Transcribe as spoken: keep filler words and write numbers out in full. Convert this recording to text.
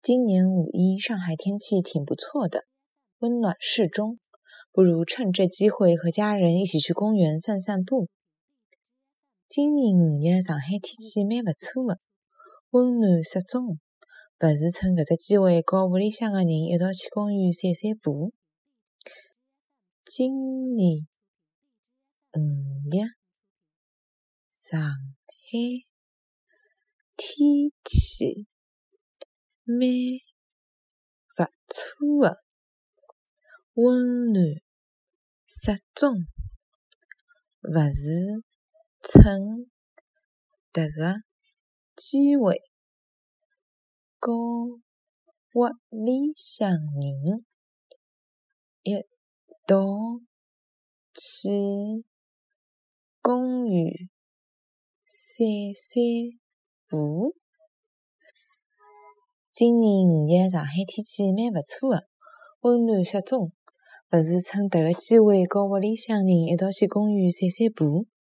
今年五一上海天气挺不错的，温暖适中，不如趁这机会和家人一起去公园散散步。今年五日上海天气蛮不错的，温暖适中，不如趁搿只机会和屋里向的人一道去公园散散步。今年五日上海天气蛮不错的，温暖适中，不如趁迭个机会和屋里向人一道去公园散散步。今年五日上海天气蛮不错的，温暖适中，不如趁迭个机会和屋里向人一道去公园散散步。